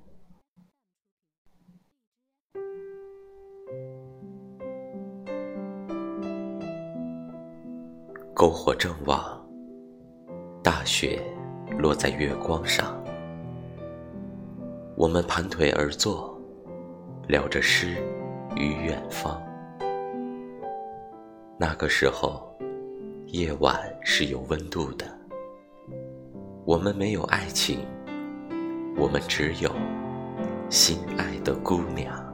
篝火正旺，大雪落在月光上，我们盘腿而坐，聊着诗与远方。那个时候，夜晚是有温度的，我们没有爱情，我们只有心爱的姑娘。